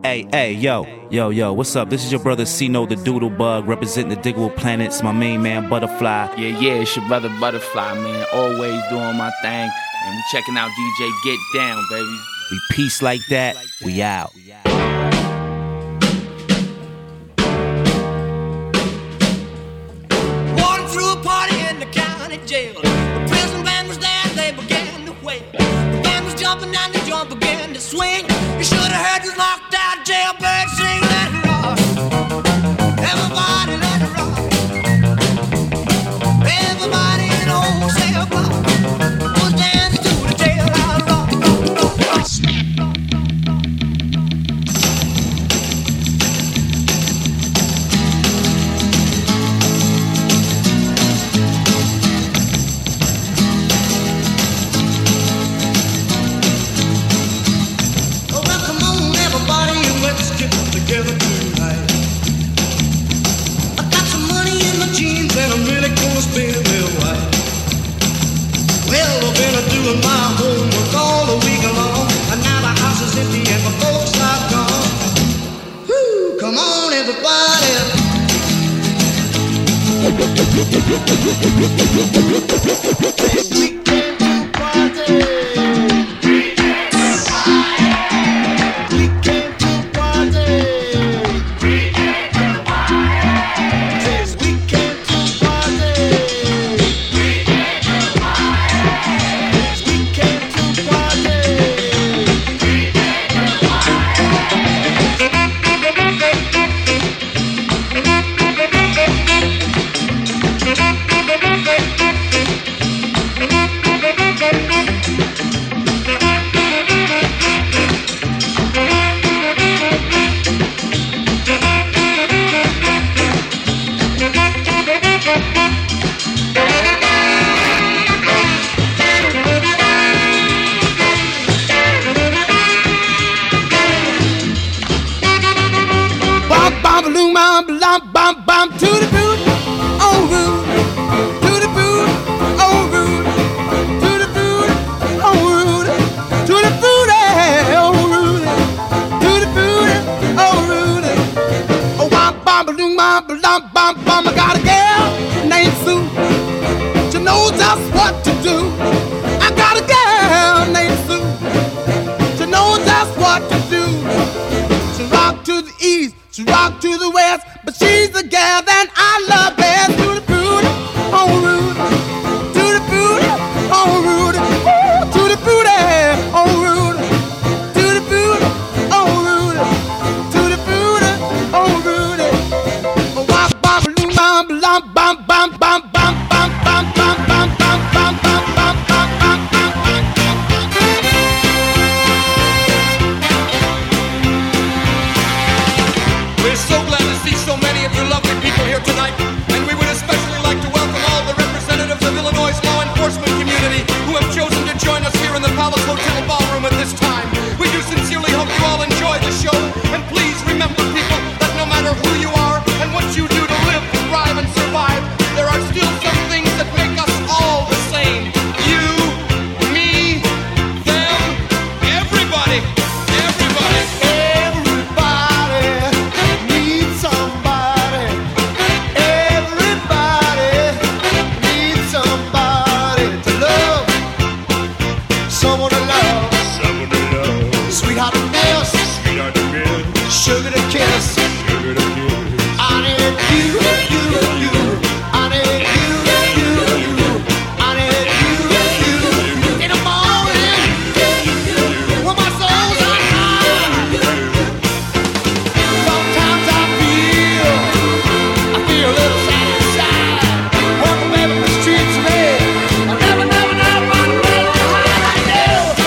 Hey, yo, what's up? This is your brother C-No the Doodle Bug, representing the Diggable Planets, my main man Butterfly. Yeah, it's your brother Butterfly, man. Always doing my thing. And we checking out DJ Get Down, baby. We peace like that, we out. Walking through a party in the county jail. The prison band was there, they began to wail. The band was jumping and the drum began to swing. You should have heard this knocked out jailbird sing. Let it rock, everybody let it rock. Everybody in the whole cell block was dancing to the jailhouse rock. Together tonight. I got some money in my jeans and I'm really gonna spend real white. Well, I've been doing my homework all the week long, and now the house is empty and my folks are gone. Woo, come on everybody. We came to party. I got a girl named Sue. She knows just what to do. I got a girl named Sue. She knows just what to do. She rock to the east, she rock to the west, but she's the girl that I love best. To the booty, on Rudy. To the booty, on Rudy. Ooh, to the booty, on Rudy. To the booty, on Rudy. To the booty, on Rudy. We're so glad to see so many of you lovely people here tonight, and we would especially like to welcome all the representatives of Illinois' law enforcement community who have chosen to join us here in the Palace Hotel Ballroom at this time. We do sincerely hope you all enjoy the show, and please remember, people, that no matter who you are and what you do to live, thrive, and survive, there are still some things that make us all the same. You, me, them, everybody. Sugar to kiss. I need you, I need you, I need you. In the morning, when my soul's on fire, sometimes I feel a little sad inside. Walking baby the streets of me, I never run away how I do.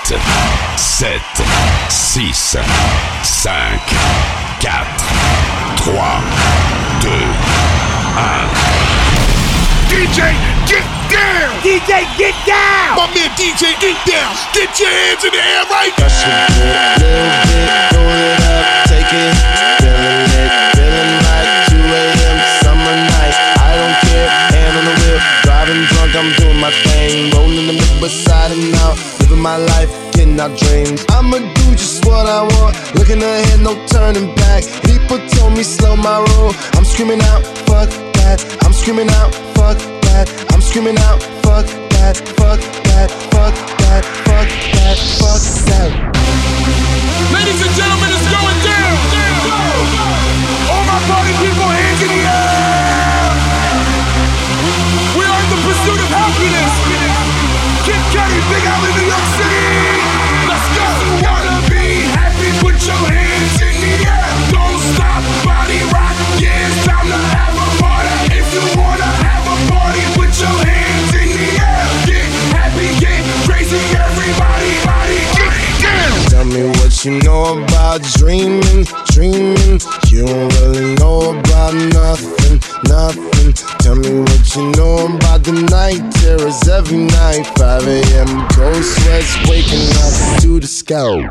7, 6, 5, 4, 3, 2, 1. DJ, get down! DJ, get down! My man DJ, get down! Get your hands in the air right now! Rush it, little bit, roll it up, take it, feeling like 2 a.m. summer night. I don't care, hand on the wheel, driving drunk, I'm doing my thing, rolling the mid beside and now, living my life, getting our dreams. I'ma do just what I want, looking ahead, no turning back. People told me slow my roll, I'm screaming out, fuck that. I'm screaming out, fuck that. I'm screaming out, fuck that, fuck that, fuck that, fuck that, fuck that. Ladies and gentlemen, it's going down. All my party people, hands in the air. We are in the pursuit of happiness. Kid Cudi, Big Alley, New York City. Let's go. If you wanna be happy, put your hands in the air. Don't stop, body rock. Yeah, it's time to have a party. If you wanna have a party, put your hands in the air. Get happy, get crazy, everybody, body, get down. Tell me what you know about dreaming, dreaming. You don't really know about nothing, nothing. Tell me what you know about the night terrors every night. 5 a.m. cold sweats waking up to the sky.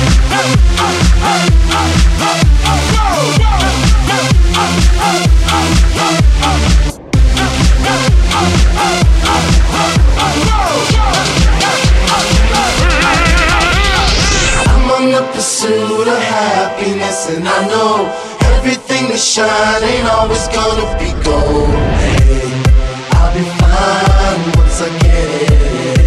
I'm on the pursuit of happiness, and I know everything that shine ain't always gonna be gold. Hey, I'll be fine once I get it.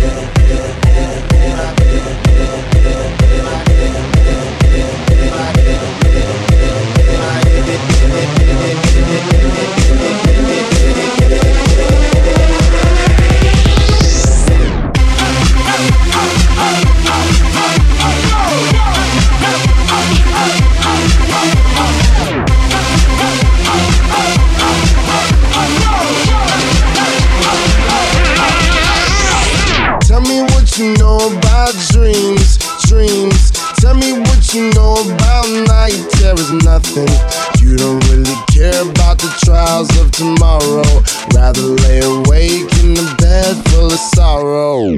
Tell me what you know about dreams, dreams. Tell me what you know about night terrors, nothing. You don't really care about the trials of tomorrow. Rather lay awake in the bed full of sorrow.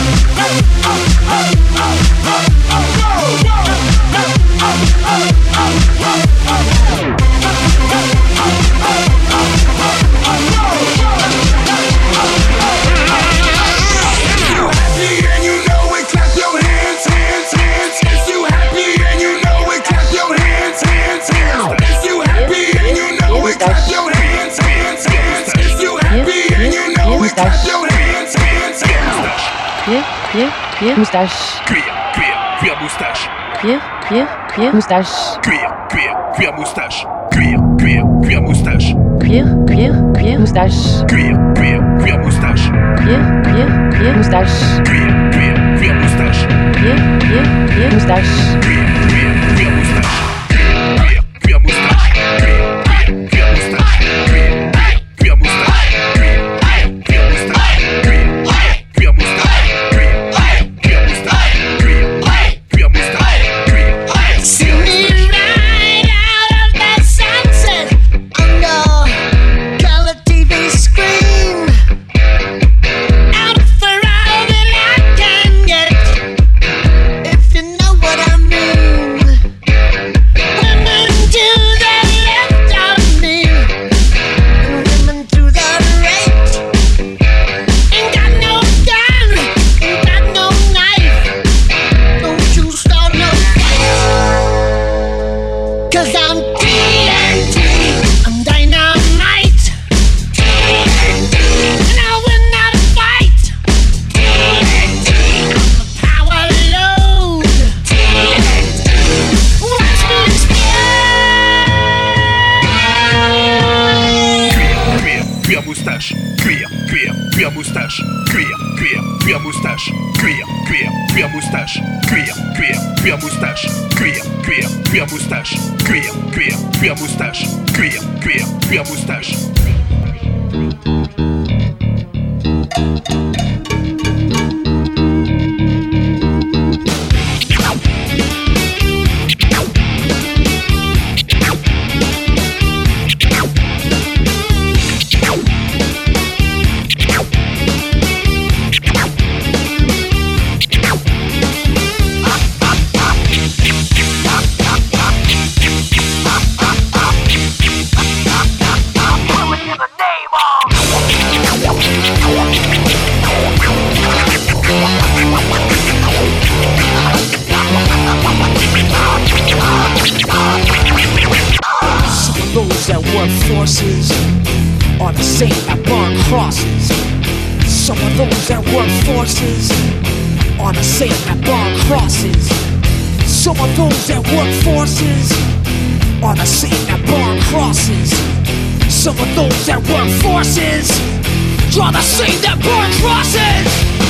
Cuir, moustache. Cuir moustache. Cuir moustache. Cuir moustache. Cuir moustache. Cuir moustache. Cuir moustache. Cuir moustache. Cuir moustache. Cuir moustache. Cuir moustache. Cuir See me right out of that sunset under color TV screen. Out for all that I can get, if you know what I mean. Women to the left of me, and women to the right. Ain't got no gun, ain't got no knife. Don't you start no fight. 'Cause I'm TNT, I'm dynamite. TNT, and I will not fight. TNT, I'm a power load. TNT, watch me explode. Cuir moustache. Cuir moustache. Cuir moustache. Cuir moustache. Cuir moustache. Cuir moustache. Cuir moustache. Cuir moustache. work forces are the same that burn crosses. Some of those that work forces are the same that burn crosses. Some of those that work forces are the same that burn crosses. Some of those that work forces are the same that burn crosses.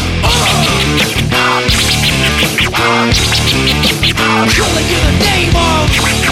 Killing in the name of.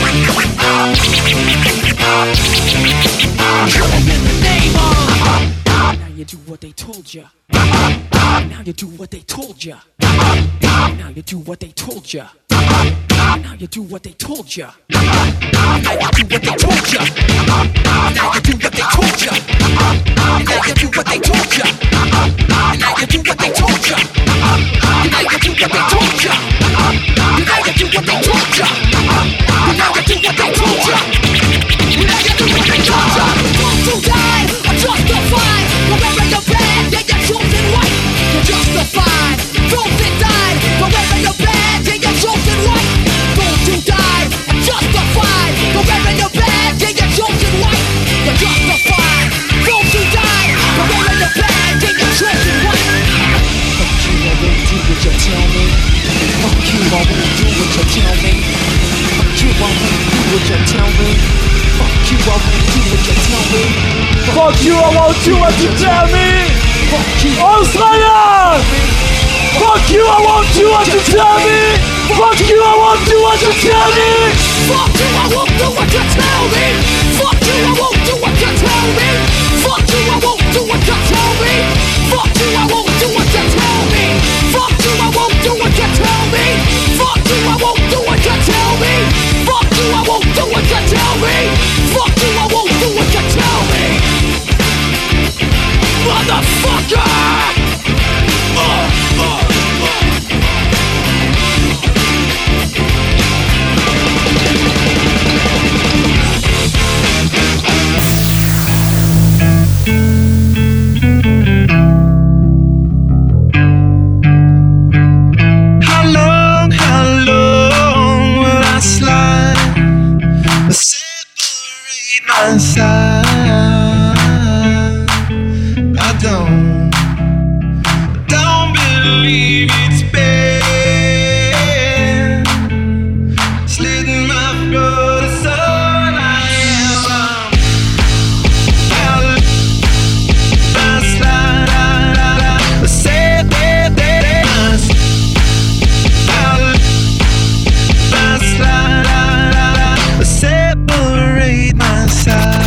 Killing in the name of. Now you do what they told ya. Now you do what they told ya. Now you do what they told ya. Now you do what they told ya. Now you do what they told ya. Now you do what they told ya. Now you do what they told ya. Now you do what they told ya. Now you do what they told ya. Now you do what they told ya. Now you do what they told ya. Now you do what they told ya. Those who died are justified. Wherever you're bad, yeah, you're chosen right. You're justified. Those that died, wherever you're bad, yeah, you're chosen right. Those who died are justified. Wherever you're bad, yeah, you're chosen right. You're justified. Those who died, wherever you're bad, yeah, you're chosen right. Fuck you, I won't do what you tell me. Fuck you, I won't do what you tell me. Fuck you, I won't do what you tell me. Fuck you, I won't do what you tell me. Fuck you, I won't do what you tell me. Australia! Fuck you, I won't do what you tell me. Fuck you, I won't do what you tell me. Fuck you, I won't do what you tell me. Fuck you, I won't do what you tell me. Fuck you, I won't do what you tell me. Fuck you, I won't do what you tell me. Fuck you, I won't do what you tell me. Fuck you, I won't do what you tell me. Fuck you, I won't do what you tell me. Fuck you, I won't do what you tell me. Motherfucker! How long will I slide? Separate my side. I don't believe it's bad. Slitting my throat, it's all I am. I slide, say that I separate my side.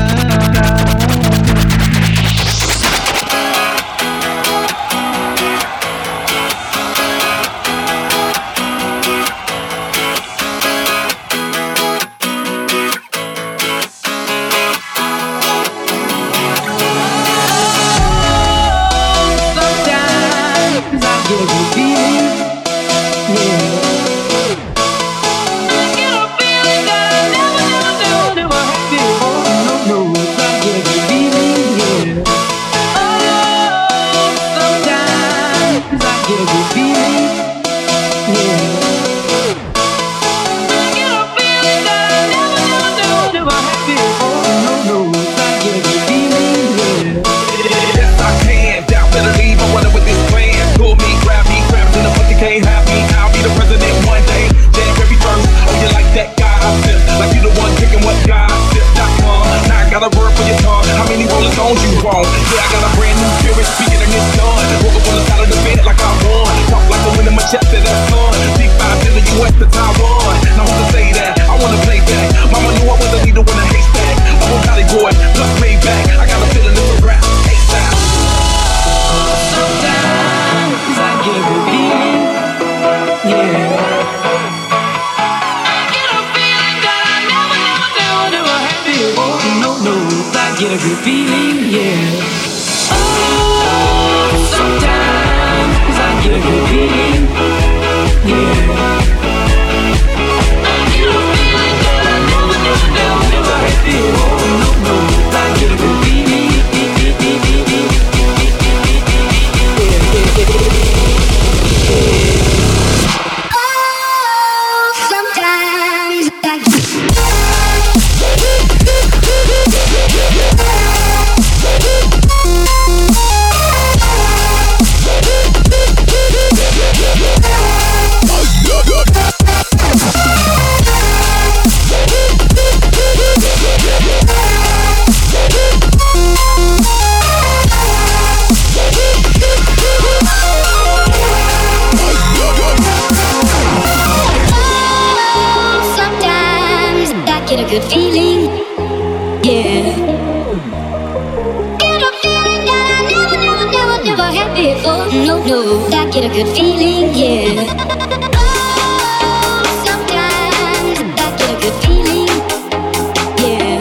get a good feeling, yeah. Get a feeling that I never had before. No, I get a good feeling, yeah. Oh, sometimes I get a good feeling, yeah.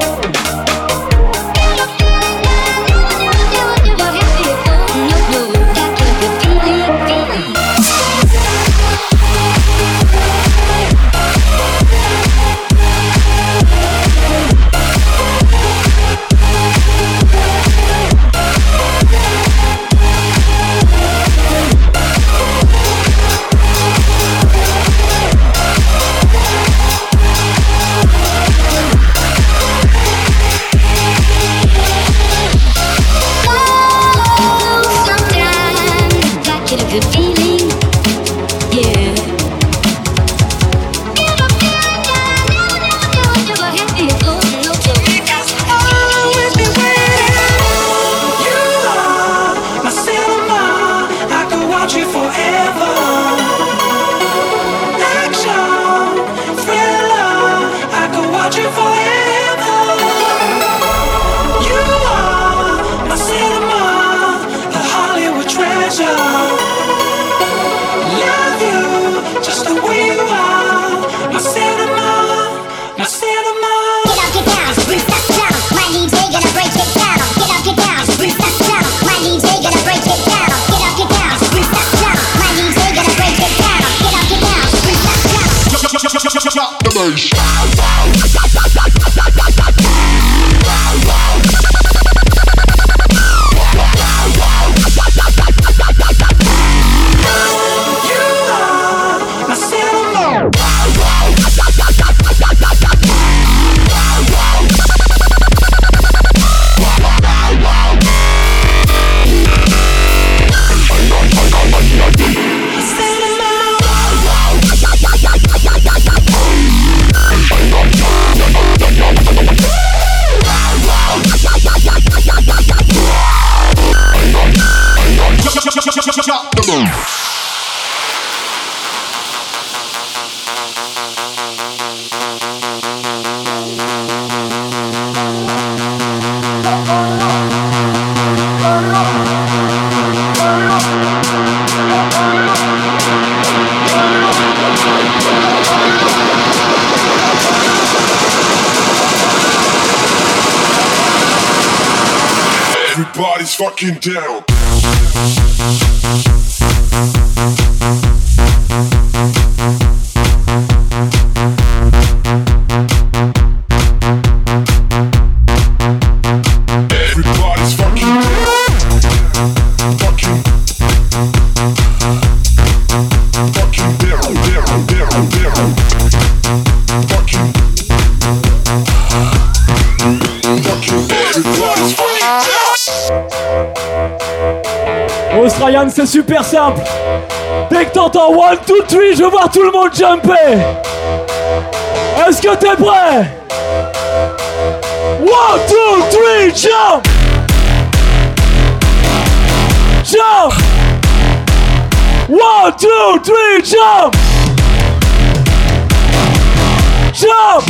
Get a feeling that I never had before. No, I get a good feeling. Good feeling, yeah. Get a feeling that I never had before. No, because always be waiting. You are my cinema. I could watch you forever. Action, thriller. I could watch you forever. You are my cinema, the Hollywood treasure. Love you just the way you are. My cinema, my cinema. Get up, get down, Bruce, that's down. My DJ gonna break it down. Get up, get down, Bruce, that's down. My DJ gonna break it down. Get up, get down, Bruce, that's down. My DJ gonna break it down. Get up, get down, Bruce, that's down. The bass. Everybody's fucking down. Everybody's fucking down. Fucking down, down, down, down. Fucking everybody's fucking down. Australian, c'est super simple. Dès que t'entends 1, 2, 3, je veux voir tout le monde jumper. Est-ce que t'es prêt? 1, 2, 3, jump! Jump! 1, 2, 3, jump! Jump!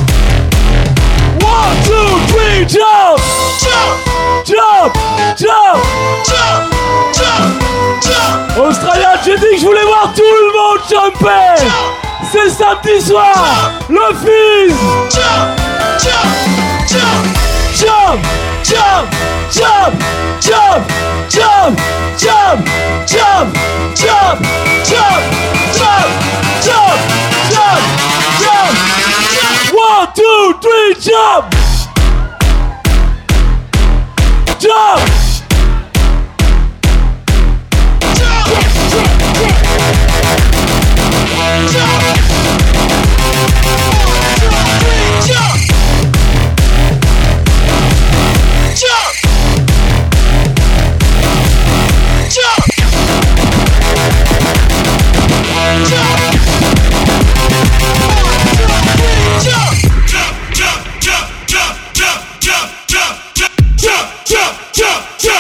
1, 2, 3, jump! Jump! Jump! Jump! Jump! Jump! Jump! Australien, j'ai dit que je voulais voir tout le monde jumper! C'est samedi soir! Le Fizz! Jump! Jump! Jump! Jump! Jump! Jump! Jump! Jump! Jump! Jump! Jump! Jump! Jump! Jump! Jump! Jump! Jump! 1, 2, 3, jump! Jump! Jump!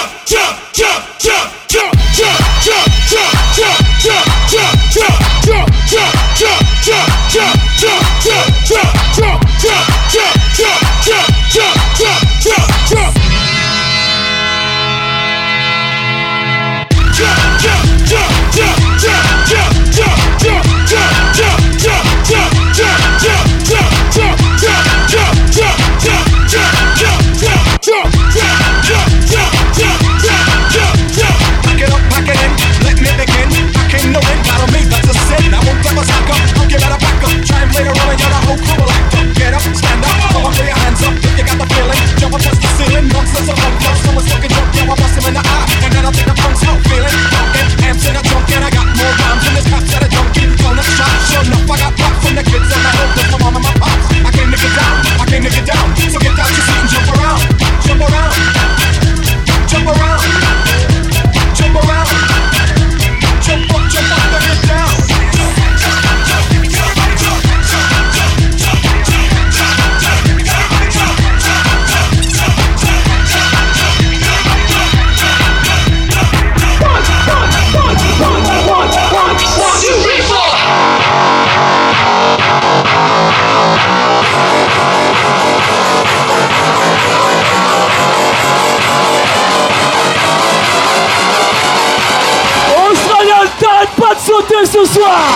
soir.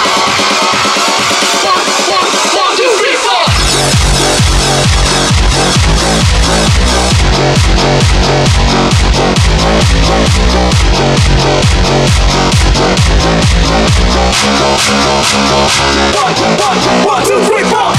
One, two, three, four. One, two, three, four.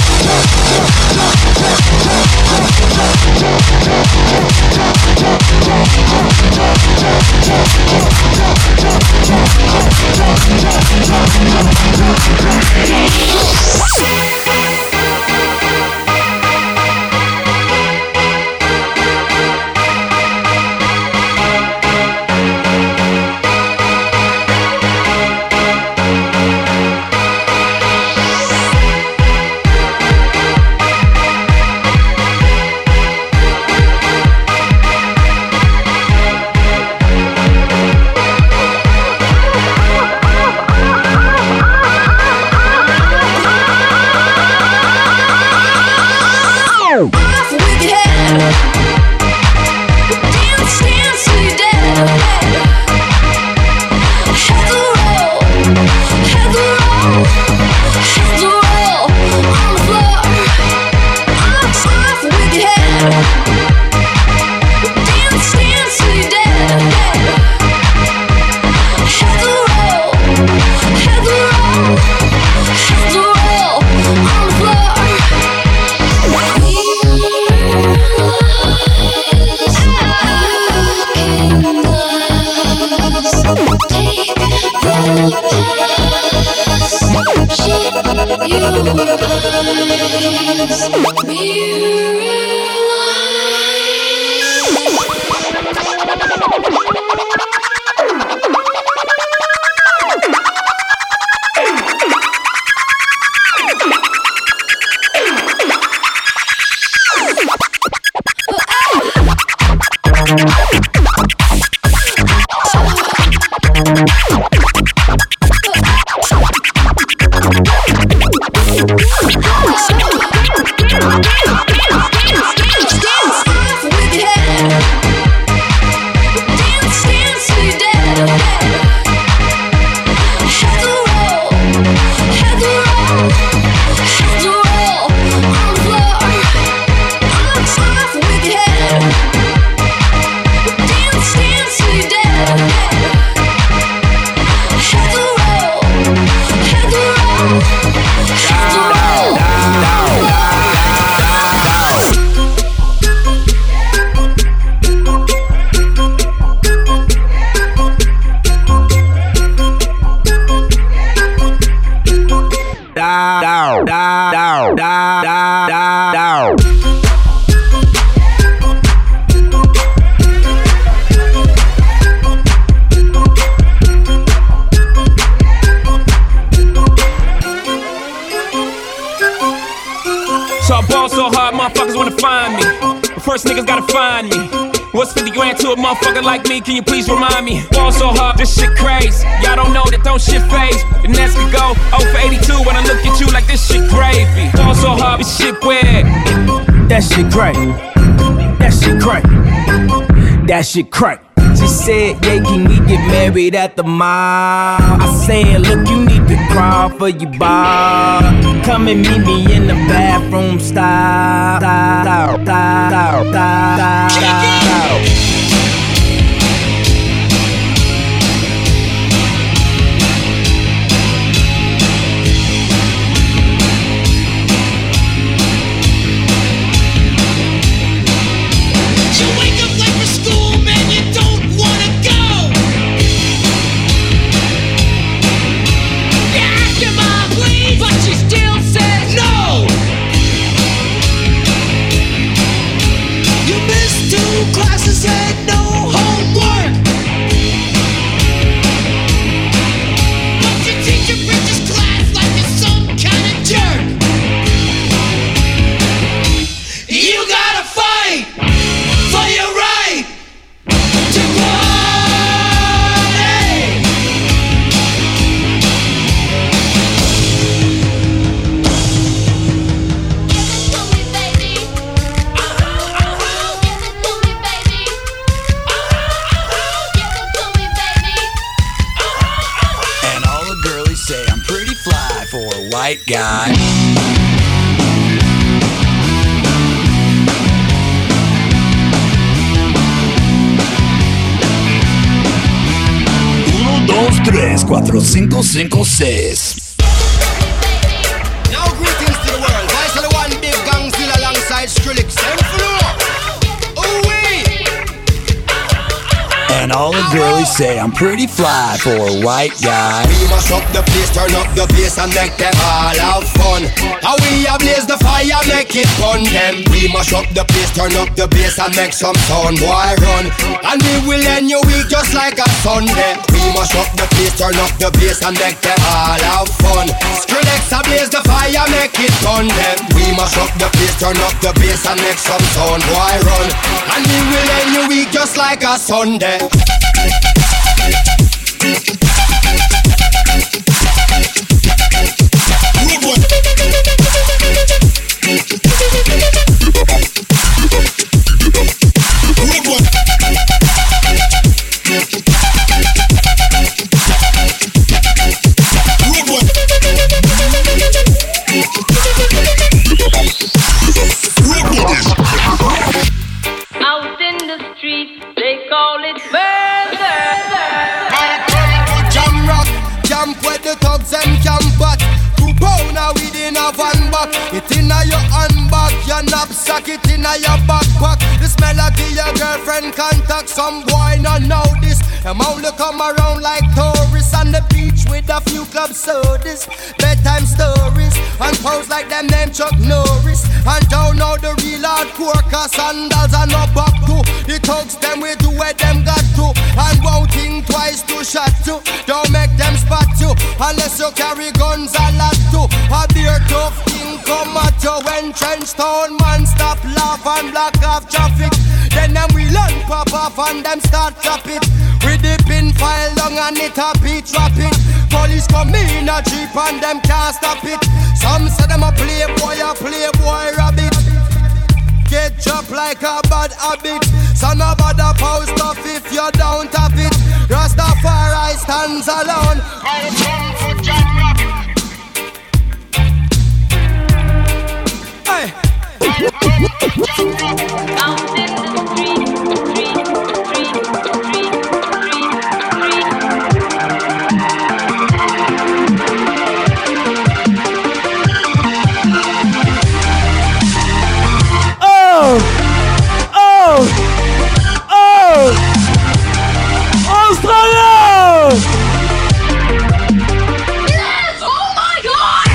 So I ball so hard, motherfuckers wanna find me. But first niggas gotta find me. What's 50 grand to a motherfucker like me? Can you please remind me? Ball so hard, this shit crazy. Y'all don't know that don't shit phase. The next could go 0 for 82 when I look at you like this shit gravy. Ball so hard, this shit weird. That shit crack. That shit crack. That shit crack. She said, yeah, can we get married at the mall? I said, look, you need to crawl for your bar. Come and meet me in the bathroom style. white guy. Uno, dos, tres, cuatro, cinco, cinco, seis. Now greetings to the world. I say the one big gang still alongside Skrillex. And all the girlies say I'm pretty fly for a white guy. We mash up the place, turn up the bass and make them all have fun. How we blaze the fire, make it fun them. We mash up the place, turn up the bass and make some sound, boy run. And we will end your week just like a Sunday. We mash up the place, turn up the bass and make them all have fun. Skrillex blaze the fire, make it fun them. We mash up the place, turn up the bass and make some sound, boy run. And we will end your week just like a Sunday. Out in the street, they call it murder. Jam rock, jump where the thugs and camp at. 2 pound a weed in a van back. It inna your handbag, your knapsack, it inna your backpack. The smell of your girlfriend contact. Some boy not know this. Them only come around like tourists on the beach with a few club sodas, bedtime stories, and pose like them name Chuck Norris. And don't know the real hardcore, cause sandals are not back to. The thugs them we do where them got to. And won't think twice to shot to. Don't make them spot you, unless you carry guns a lot to. A beer tough thing come at you when trench town man stop laugh and block off traffic. Then them we learn pop off and them start trap it. With the pin file long and it a beat rapping. Police come in a jeep and them can't stop it. Some say them a playboy rabbit. Get dropped like a bad habit. So no bother post stuff if you don't have it. Rastafari stands alone. Hey. Out in the street. Australia! Yes! Oh my God!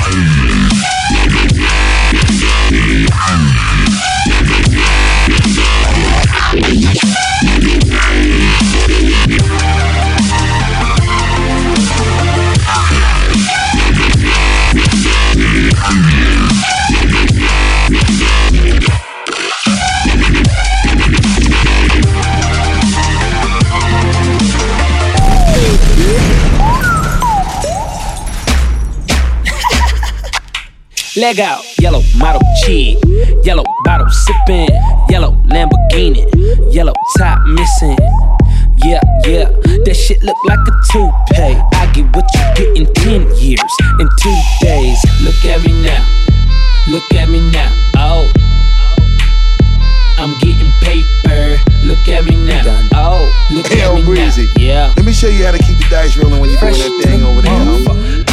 Leg out, yellow model chick, yellow bottle sipping, yellow Lamborghini, yellow top missing. Yeah, that shit look like a toupee. I get what you get in 10 years, in 2 days. Look at me now, oh, I'm getting paper. Look at me now, oh, look at me Breezy. now. Yeah. Let me show you how to keep the dice rolling when you're doing that thing over there.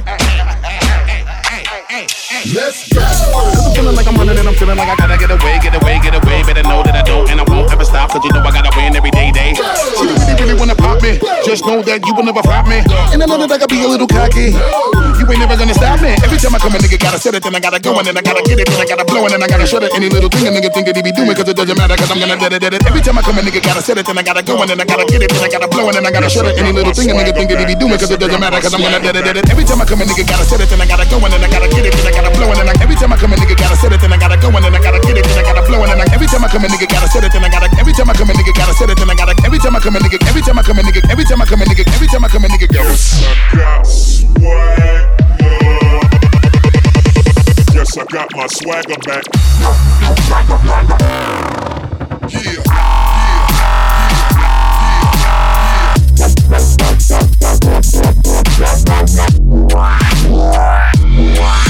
Let's go. I'm feeling like I'm running and I'm feeling like I gotta get away. Better know that I don't and I won't ever stop, cause you know I gotta win every day. She really wanna pop me. Just know that you will never flop me. And I know that I gotta be a little cocky. You ain't never gonna stop me. Every time I come a nigga gotta set it, then I gotta go and then I gotta get it, then I gotta blow and then I gotta shut it. Any little thing a nigga think that he be doing, cause it doesn't matter, cause I'm gonna dead it. Every time I come a nigga gotta set it, then I gotta go and then I gotta get it, then I gotta blow and then I gotta shut it. Any little thing a nigga think that he be doing, cause it doesn't matter, cause I'm gonna dead it. Every time I come a nigga gotta set it, then I gotta go and then I gotta get it, then I gotta blow and then every time I come a nigga gotta set it, then I gotta go and then I gotta get it, then I gotta blow and then every time I come a nigga gotta set it, then I gotta every time I come a nigga gotta set it, then I gotta every time I come a nigga every time I come a nigga every time I come a nigga every time I come a nigga go. Yes, I got my swagger back. Yeah.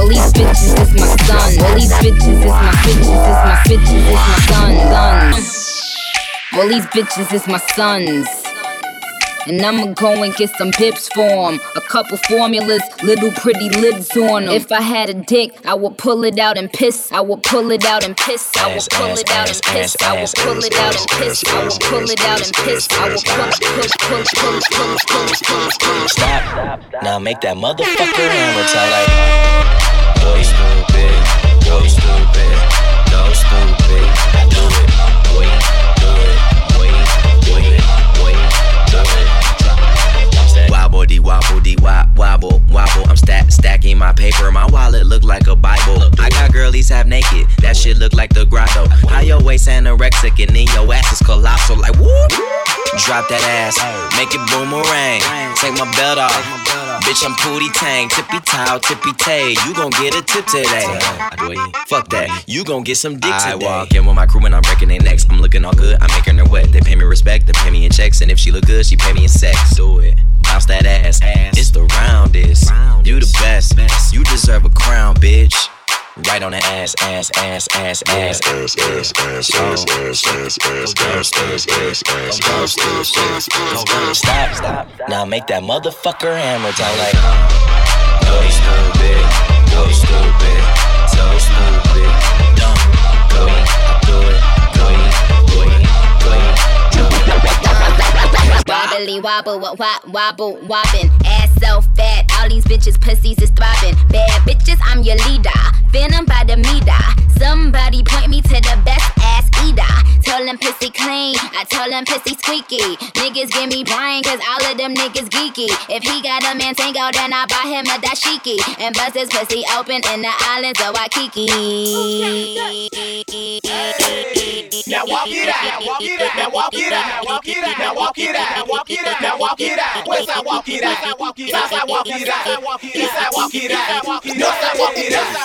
All these bitches is my son. All these bitches is my bitches is my bitches is my son. All these bitches is my sons. And I'ma go and get some pips for 'em. A couple formulas, little pretty lids on 'em. If I had a dick, I would pull it out and piss. I would pull it out and piss. I would pull it out and piss. I would pull it out and piss. I would pull it out and piss. I would pull. Stop. Now make that motherfucker hammer tell like, boy stupid, boy stupid, go stupid. Do it, boy, do it, boy, do it, boy, do it. Wobble dee wobble dee wobble wobble. I'm stacking my paper. My wallet look like a Bible. I got girlies half naked. That shit look like the grotto. How your waist anorexic and then your ass is colossal. Like whoop. Drop that ass, make it boomerang. Take my belt off, bitch. I'm Pootie Tang, tippy toe, tippy tay. You gon' get a tip today. Fuck that, you gon' get some dick today. I walk in with my crew and I'm breaking their necks. I'm looking all good, I'm making her wet. They pay me respect, they pay me in checks, and if she look good, she pay me in sex. Do it, bounce that ass. It's the roundest. You the best. You deserve a crown, bitch. Right on the ass. Stop. Now make that motherfucker hammer down like, go stupid, so stupid, dumb, go, do it. Wobbly wobble, wobble, wobbin'. Ass so fat, all these bitches pussies is throbbing. Bad bitches, I'm your leader. Venom by the meter. Somebody point me to the best ass eater. Tell them pussy clean, I tell them pussy squeaky. Niggas give me brain, cause all of them niggas geeky. If he got a Mantango, then I buy him a dashiki. And bust his pussy open in the islands of Waikiki. Now walk it out, walk it out, now walk it out, walk it out, now walk it out, walk it out, now walk it out. West side walk it out, south side walk it out, east side walk it out, north side walk it out.